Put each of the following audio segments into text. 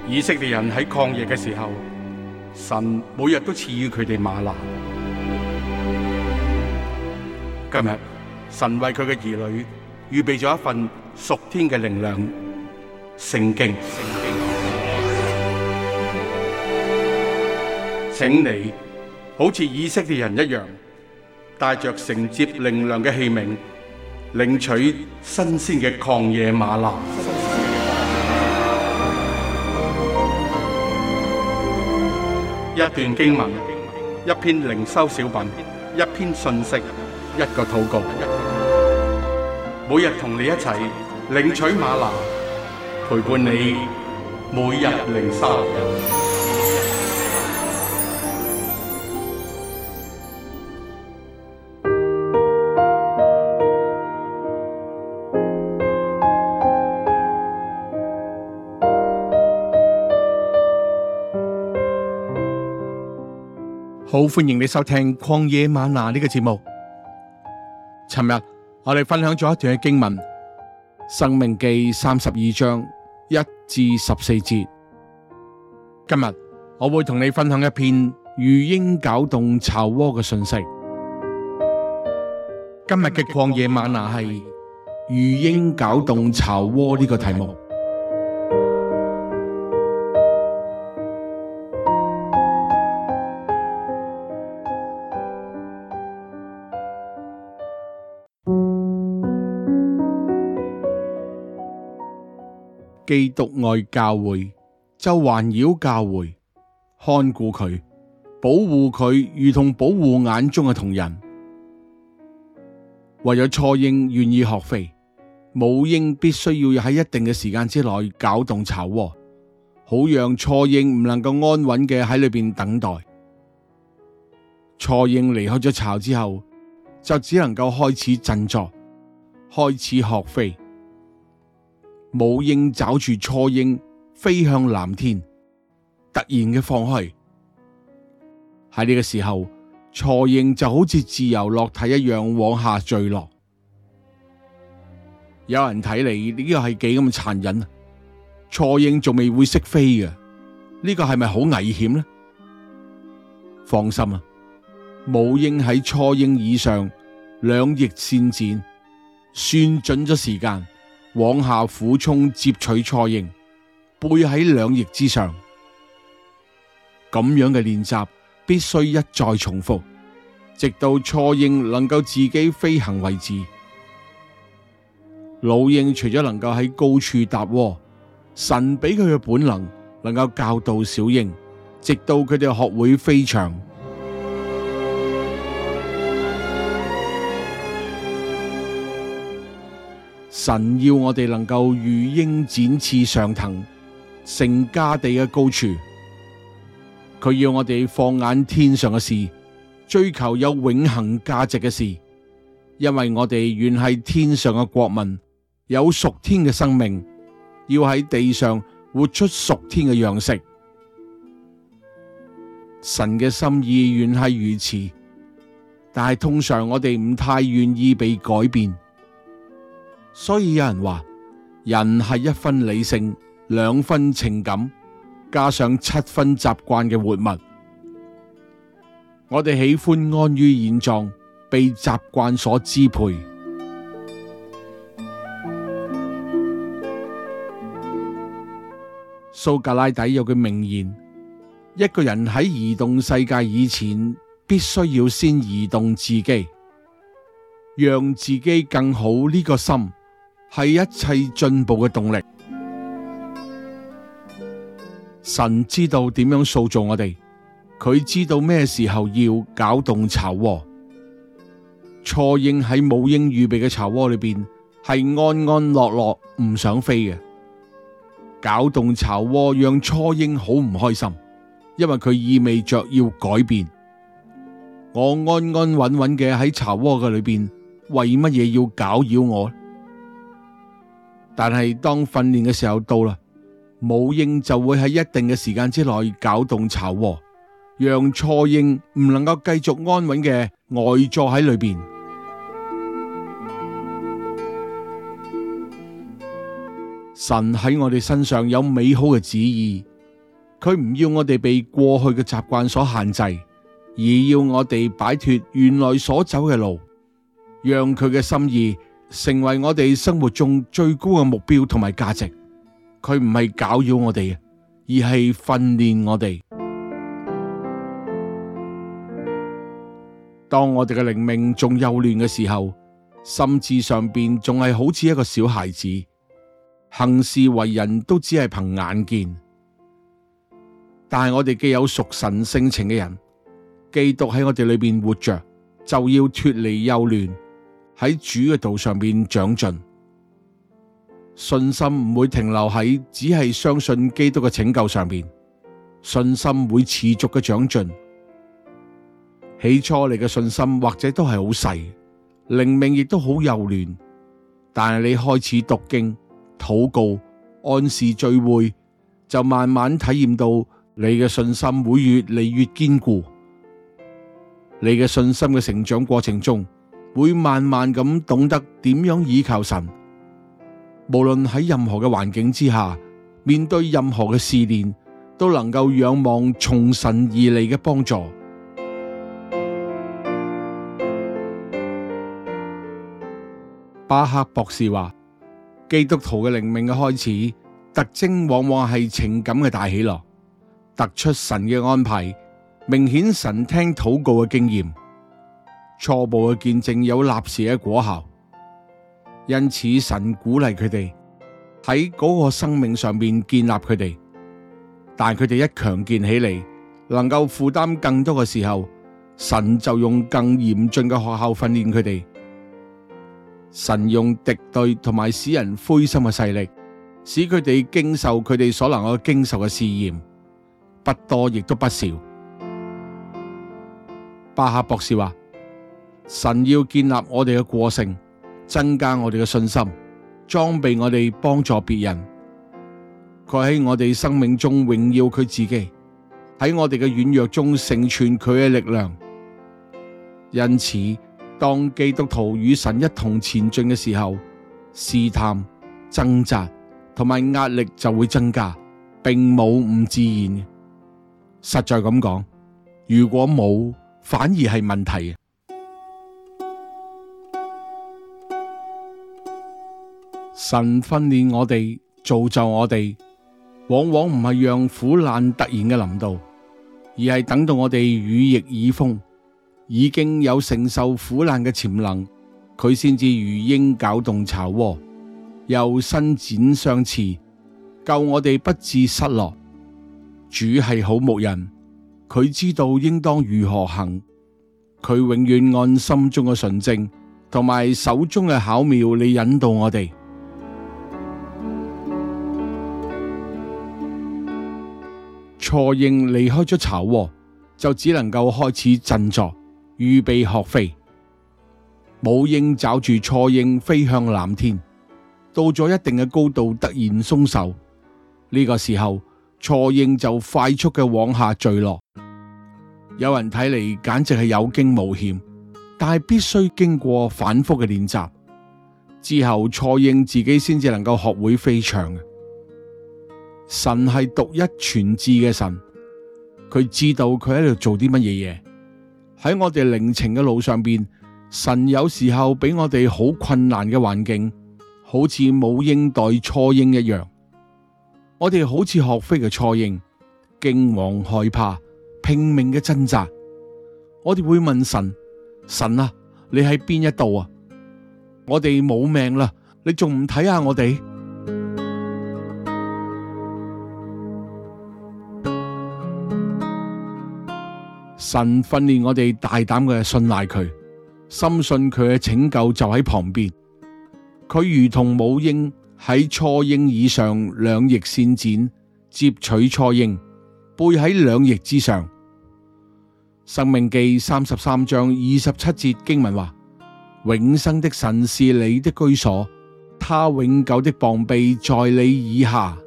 以色列人喺曠野嘅時候，神每日都賜予佢哋嗎哪。今日神為佢嘅兒女預備咗一份屬天嘅靈糧——聖經。請你好似以色列人一樣，帶着承接靈糧嘅器皿，領取新鮮嘅曠野嗎哪。一段經文，一篇靈修小品，一篇信息，一個禱告。每日同你一齊領取嗎哪，陪伴你每日靈修。好，歡迎你收聽曠野嗎哪呢個節目。尋日我哋分享咗一段嘅經文，申命記32章1至14節。今日我會同你分享一篇如鷹攪動巢窩嘅信息。今日嘅曠野嗎哪係如鷹攪動巢窩呢個題目。基督愛教會，就環繞教會，看顧佢，保護佢，如同保護眼中嘅瞳人。為咗雛鷹願意學飛，母鷹必須要喺一定嘅時間之內攪動巢窩，好讓雛鷹唔能夠安穩嘅喺裏邊等待。雛鷹離開咗巢之後，就只能夠開始振作，開始學飛。母鷹抓住雛鷹飛向藍天，突然嘅放開。喺呢個時候，雛鷹就好似自由落體一樣往下墜落。有人睇嚟呢個係幾咁殘忍啊！雛鷹仲未會識飛嘅，呢個係咪好危險呢？放心啊，母鷹喺雛鷹以上，兩翼扇展，算準咗時間，往下俯衝接取雛鷹，背喺兩翼之上。咁樣嘅練習必須一再重複，直到雛鷹能夠自己飛行為止。老鷹除咗能夠喺高處搭窩，神俾佢嘅本能夠教導小鷹，直到佢哋學會飛翔。神要我哋能夠如鷹展翅上騰，成家地嘅高處。佢要我哋放眼天上嘅事，追求有永恆價值嘅事，因為我哋原係天上嘅國民，有屬天嘅生命，要喺地上活出屬天嘅樣式。神嘅心意原係如此，但係通常我哋唔太願意被改變。所以有人話，人係1分理性，2分情感，加上7分習慣嘅活物。我哋喜歡安於現狀，被習慣所支配。蘇格拉底有句名言：一個人喺移動世界以前，必須要先移動自己，讓自己更好。呢個心係一切進步嘅動力。神知道點樣塑造我哋，佢知道咩時候要攪動巢窩。雛鷹喺母鷹預備嘅巢窩裏邊，係安安樂樂唔想飛嘅。攪動巢窩讓雛鷹好唔開心，因為佢意味着要改變。我安安穩穩嘅喺巢窩嘅裏邊，為乜嘢要攪擾我？但係當訓練嘅時候到啦，母鷹就會喺一定嘅時間之內攪動巢窩，讓雛鷹唔能夠繼續安穩嘅呆坐喺裏邊。神喺我哋身上有美好嘅旨意， 佢唔要我哋被過去嘅習慣所限制，而要我哋擺脫原來所走嘅路，讓佢嘅心意成為我哋生活中最高嘅目標同埋價值。佢唔係攪擾我哋，而係訓練我哋。當我哋嘅靈命仲幼嫩嘅時候，心智上邊仲係好似一個小孩子，行事為人都只係憑眼見。但係我哋既有屬神性情嘅人，基督喺我哋裏邊活着，就要脫離幼嫩，喺主嘅道上邊長進。信心唔會停留喺只係相信基督嘅拯救上邊，信心會持續嘅長進。起初你嘅信心或者都係好細，靈命亦都好幼嫩，但係你開始讀經、禱告、按時聚會，就慢慢體驗到你嘅信心會越嚟越堅固。你嘅信心嘅成長過程中，會慢慢咁懂得點樣倚靠神。無論喺任何嘅環境之下，面對任何嘅試煉，都能夠仰望從神而嚟嘅幫助。巴克博士話，基督徒嘅靈命嘅開始特徵往往係情感嘅大喜樂，突出神嘅安排，明顯神聽禱告嘅經驗，初步嘅見證有立時嘅果效。因此神鼓勵佢哋喺嗰個生命上面建立佢哋，但佢哋一強健起嚟，能夠負擔更多嘅時候，神就用更嚴峻嘅學校訓練佢哋。神用敵對同埋使人灰心嘅勢力，使佢哋經受佢哋所能夠經受嘅試驗，不多亦都不少。巴克博士話，神要建立我哋嘅個性，增加我哋嘅信心，裝備我哋幫助別人。佢喺我哋生命中榮耀佢自己，喺我哋嘅軟弱中成全佢嘅力量。因此，當基督徒與神一同前進嘅時候，試探、掙扎同埋壓力就會增加，並冇唔自然。實在咁講，如果冇，反而係問題。神訓練我哋，造就我哋，往往唔係讓苦難突然嘅臨到，而係等到我哋羽翼已豐，已經有承受苦難嘅潛能，佢先至如鷹攪動巢窩，又伸展相翅，救我哋不致失落。主係好牧人，佢知道應當如何行，佢永遠按心中嘅純正同埋手中嘅巧妙嚟引導我哋。雛鷹離開咗巢窩，就只能夠開始振作，預備學飛。母鷹抓住雛鷹飛向藍天，到咗一定嘅高度突然鬆手，呢個時候雛鷹就快速嘅往下墜落。有人睇嚟簡直係有驚無險，但係必須經過反覆嘅練習之後，雛鷹自己先至能夠學會飛翔。神係獨一全智嘅神，佢知道佢喺度做啲乜嘢嘢。喺我哋靈程嘅路上邊，神有時候俾我哋好困難嘅環境，好似母鷹待雛鷹一樣。我哋好似學飛嘅雛鷹，驚惶害怕，拼命嘅掙扎。我哋會問神：神啊，你喺邊一度啊？我哋冇命啦，你仲唔睇下我哋？神訓練我哋大膽嘅信賴佢，深信佢嘅拯救就喺旁邊。佢如同母鷹喺雛鷹以上，兩翼搧展，接取雛鷹，背喺兩翼之上。申命記33章27節經文話：永生的神是你的居所，他永久的膀臂在你以下。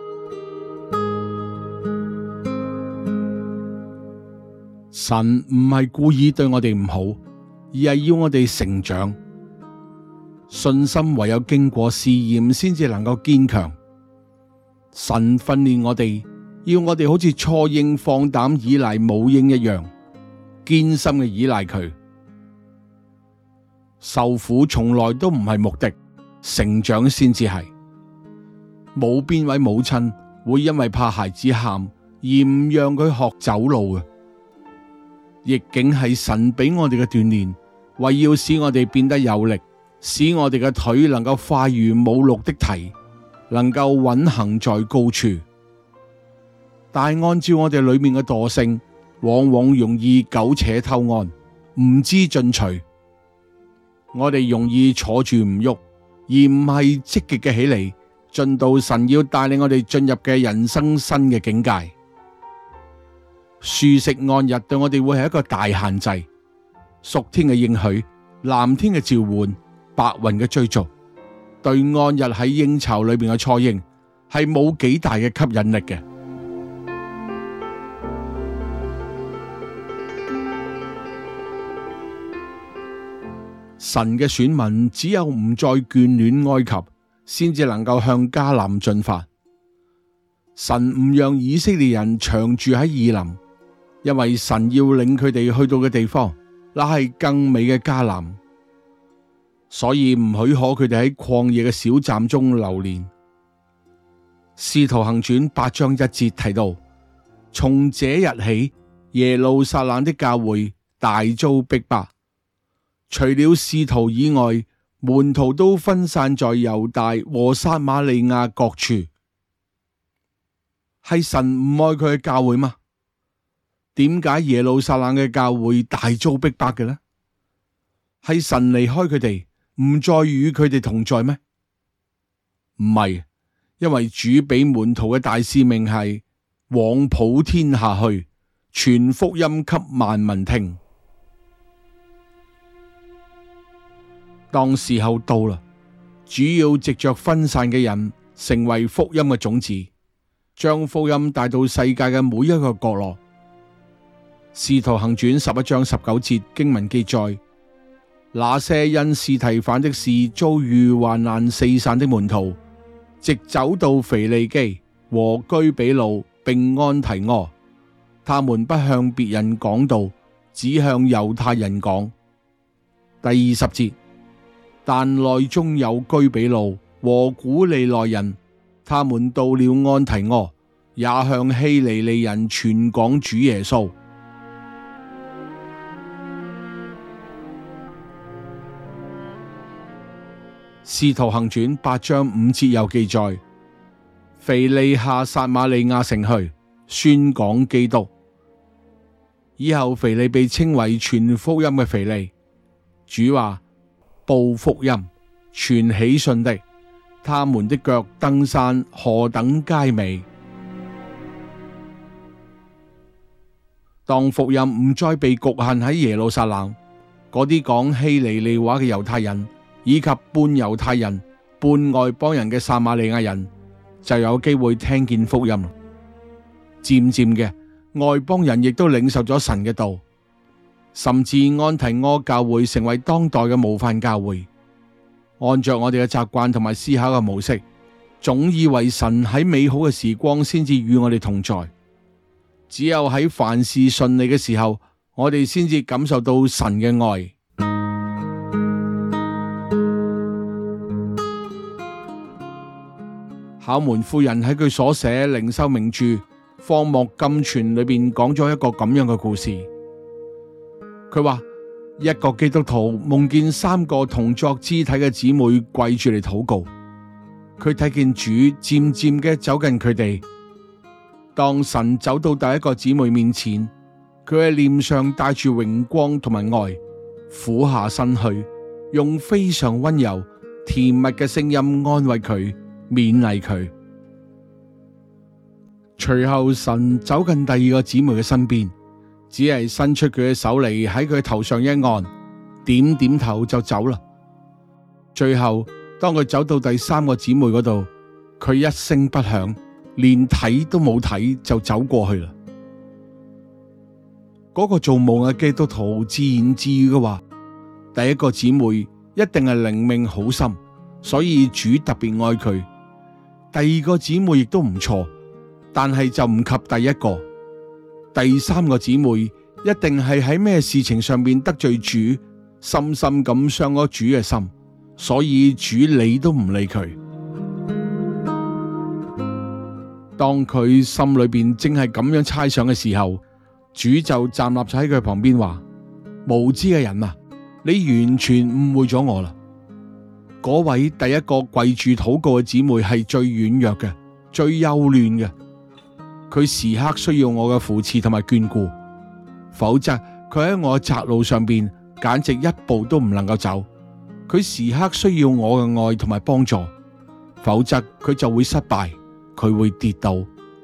神唔係故意對我哋唔好，而係要我哋成長。信心唯有經過試驗，先至能夠堅強。神訓練我哋， 要我哋好似初嬰放膽倚賴母鷹一樣，堅心嘅倚賴佢。受苦從來都唔係目的，成長先至係。冇邊位母親會因為怕孩子喊而唔讓佢學走路嘅。逆境係神俾我哋嘅鍛煉，為要使我哋變得有力，使我哋嘅腿能夠快如母鹿的蹄，能夠穩行在高處。但按照我哋裏面嘅惰性，往往容易苟且偷安，唔知進取。我哋容易坐住唔喐，而唔係積極嘅起嚟，進到神要帶領我哋進入嘅人生新嘅境界。舒適安逸對我哋會係一個大限制，屬天嘅應許、藍天嘅召喚、白雲嘅追逐，對安逸喺鷹巢裏邊嘅初鷹係冇幾大嘅吸引力嘅。神嘅選民只有唔再眷戀埃及，先至能夠向迦南進發。神唔讓以色列人長住喺以琳，因為神要領佢哋去到嘅地方，那係更美嘅迦南，所以唔許可佢哋喺曠野嘅小站中流連。使徒行傳8章1節提到，從這日起，耶路撒冷的教會大遭逼迫。除了使徒以外，門徒都分散在猶大和撒瑪利亞各處。係神唔愛佢嘅教會嗎？點解耶路撒冷嘅教會大遭逼迫嘅呢？係神離開佢哋，唔再與佢哋同在咩？唔係，因為主俾門徒嘅大使命係往普天下去，傳福音給萬民聽。當時候到啦，主要藉着分散嘅人成為福音嘅種子，將福音帶到世界嘅每一個角落。使徒行傳11章19節經文記載，那些因司提反的事遭遇患難四散的門徒，直走到腓利基和居比路並安提阿，他們不向別人講道，只向猶太人講。第20節，但內中有居比路和古利奈人，他們到了安提阿，也向希利尼人傳講主耶穌。使徒行傳8章5節又記載，腓利下撒瑪利亞城去，宣講基督。以後腓利被稱為傳福音嘅腓利。主話：報福音、傳喜訊的，他們的腳登山何等佳美！當福音唔再被局限喺耶路撒冷，嗰啲講希利尼話嘅猶太人，以及半猶太人、半外邦人嘅撒瑪利亞人，就有機會聽見福音。漸漸嘅，外邦人亦都領受咗神嘅道。甚至安提阿教會成為當代嘅模範教會。按着我哋嘅習慣同埋思考嘅模式，總以為神喺美好嘅時光先至與我哋同在，只有喺凡事順利嘅時候，我哋先至感受到神嘅愛。考門夫人喺佢所寫靈修名著《荒漠甘泉》裏邊講咗一個咁樣嘅故事。佢話一個基督徒夢見3個同作肢體嘅姊妹跪住嚟禱告，佢睇見主漸漸嘅走近佢哋。當神走到第一個姊妹面前，佢喺臉上帶住榮光同埋愛，俯下身去，用非常溫柔甜蜜嘅聲音安慰佢，勉勵佢。隨後神走近第2個姊妹嘅身邊，只係伸出佢嘅手嚟喺佢頭上一按，點點頭就走啦。最後當佢走到第3個姊妹嗰度，佢一聲不響，連睇都冇睇就走過去啦。嗰個做夢嘅基督徒自言自語嘅話，第1個姊妹一定係靈命好深，所以主特別愛佢。第2個姊妹亦都唔錯， 但係就唔及第一個。第三個姊妹一定係喺咩事情上面得罪主，深深咁傷咗主嘅心，所以主理都唔理佢。當佢心裏邊正係咁樣猜想嘅時候，主就站立喺佢旁邊話：無知嘅人啊，你完全誤會咗我啦。嗰位第一個跪住禱告嘅姊妹係最軟弱嘅，最幼嫩嘅，佢時刻需要我嘅扶持同埋眷顧，否則佢喺我嘅窄路上邊簡直一步都唔能夠走。佢時刻需要我嘅愛同埋幫助，否則佢就會失敗，佢會跌倒。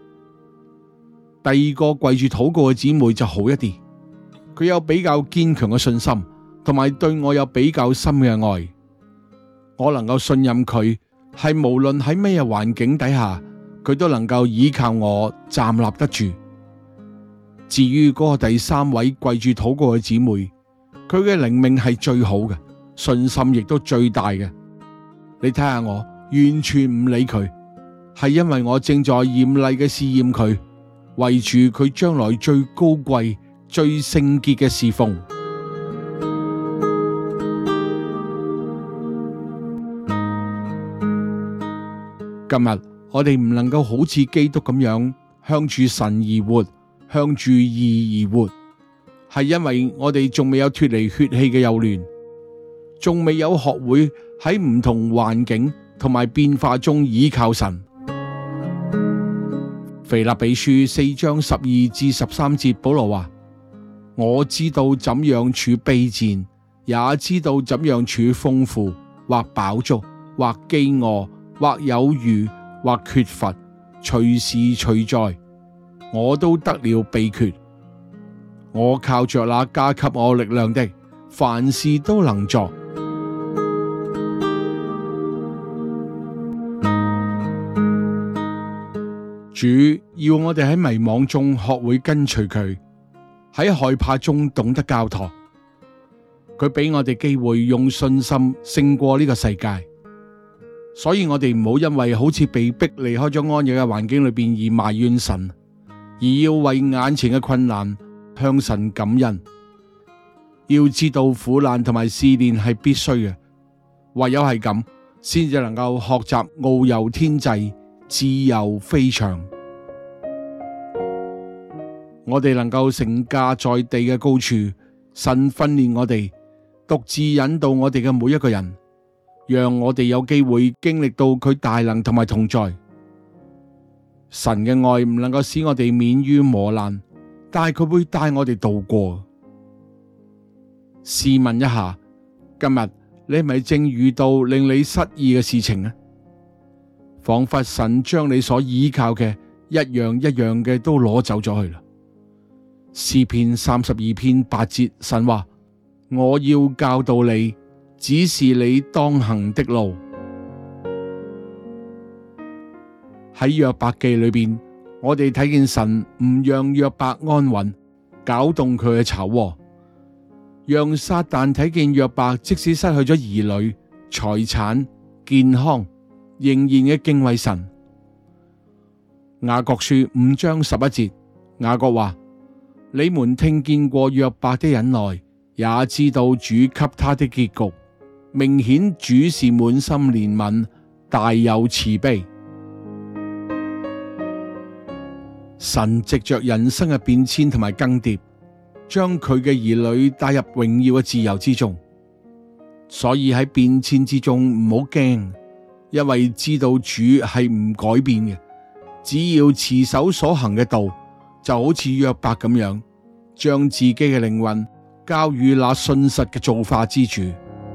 第二個跪住禱告嘅姊妹就好一啲，佢有比較堅強嘅信心，同埋對我有比較深嘅愛。我能夠信任佢，係無論喺咩環境底下，佢都能夠依靠我站立得住。至於嗰個第三位跪住禱告嘅姊妹，佢嘅靈命係最好嘅，信心亦都最大嘅。你睇下我完全唔理佢，係因為我正在嚴厲嘅試驗佢，為住佢將來最高貴、最聖潔嘅侍奉。今日我哋唔能夠好似基督咁樣向住神而活，向住義而活，係因為我哋仲未有脫離血氣嘅幼嫩，仲未有學會喺唔同環境同埋變化中倚靠神。腓立比書4章12至13節，保羅話：我知道怎樣處卑賤，也知道怎樣處豐富，或飽足，或飢餓，或有餘，或缺乏，隨時隨在，我都得了秘訣。我靠着那加給我力量的，凡事都能作。主要我哋喺迷惘中學會跟隨佢，喺害怕中懂得交託。佢俾我哋機會用信心勝過呢個世界。所以我哋唔好因為好似被逼離開咗安逸嘅環境裏邊而埋怨神，而要為眼前嘅困難向神感恩。要知道苦難同埋試煉係必須嘅，唯有係咁，先至能夠學習遨遊天際，自由飛翔。我哋能夠成家在地嘅高處，神訓練我哋，獨自引導我哋嘅每一個人，讓我哋有機會經歷到佢大能同埋同在。神嘅愛唔能夠使我哋免於磨難，但係佢會帶我哋渡過。試問一下，今日你係咪正遇到令你失意嘅事情呢？仿佛神將你所依靠嘅一樣一樣嘅都攞走咗去啦。詩篇32篇8節，神話：我要教導你，指示你當行的路。喺約伯記裏邊，我哋睇見神唔讓約伯安穩，攪動佢嘅巢窩，讓撒旦睇見約伯即使失去咗兒女、財產、健康，仍然嘅敬畏神。雅各書5章11節，雅各話：你們聽見過約伯的忍耐，也知道主給他的結局，明顯主是滿心憐憫，大有慈悲。神藉着人生嘅變遷同埋更迭，將佢嘅兒女帶入榮耀嘅自由之中。所以喺變遷之中唔好驚，因為知道主係唔改變嘅。只要持守所行嘅道，就好似約伯咁樣，將自己嘅靈魂交予那信實嘅造化之主。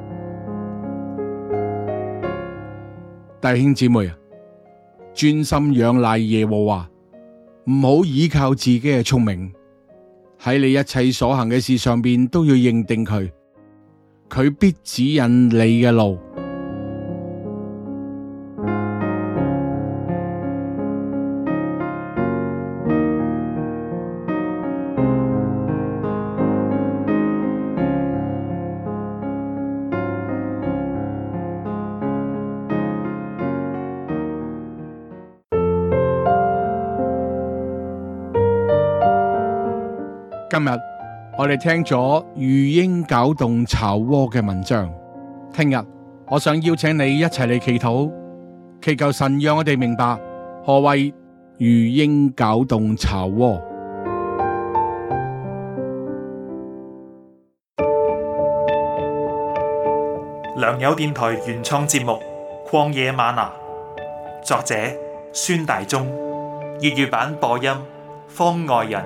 弟兄姊妹啊，專心仰賴耶和華，唔好依靠自己嘅聰明，喺你一切所行嘅事上邊都要認定佢，佢必指引你嘅路。 今日我哋聽咗魚鷹攪動巢窩嘅文章，聽日我想邀請你一齊嚟祈禱，祈求神讓我哋明白何謂魚鷹攪動巢窩。 良友電台原創節目《曠野嗎哪》，作者孫大中，粵語版播音方外人，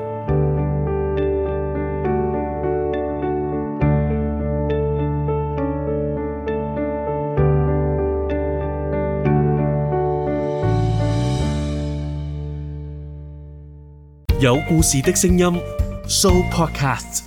有故事的聲音 Show Podcast。